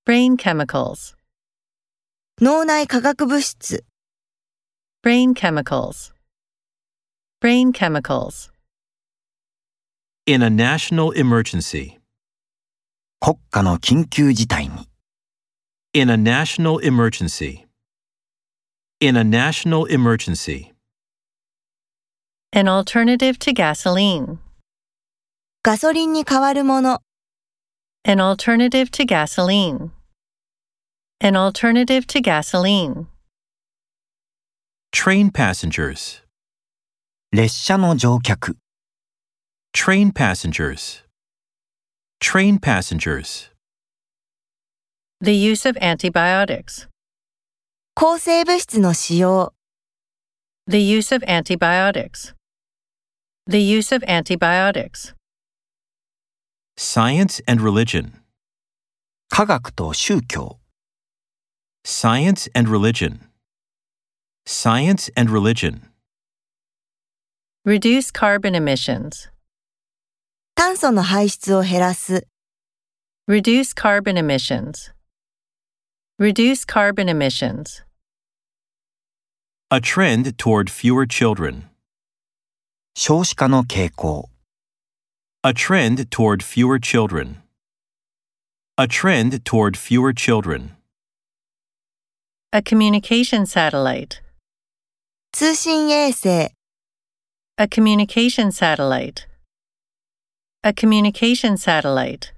Brain chemicals. 脳内化学物質。 Brain chemicals. Brain chemicals. In a national emergency. 国家の緊急事態に。 In a national emergency. In a national emergency. An alternative to gasoline. ガソリンに代わるもの。 An alternative to gasoline. An alternative to gasoline. Train passengers. 列車の乗客。 Train passengers. Train passengers. The use of antibiotics. 抗生物質の使用。 The use of antibiotics. The use of antibiotics. Science and religion. 科学と宗教。 Science and religion. Science and religion. Reduce carbon emissions. 炭素の排出を減らす。 Reduce carbon emissions. Reduce carbon emissions. A trend toward fewer children. 少子化の傾向。 A trend toward fewer children. A trend toward fewer children. A communication satellite. 通信衛星。 A communication satellite. A communication satellite.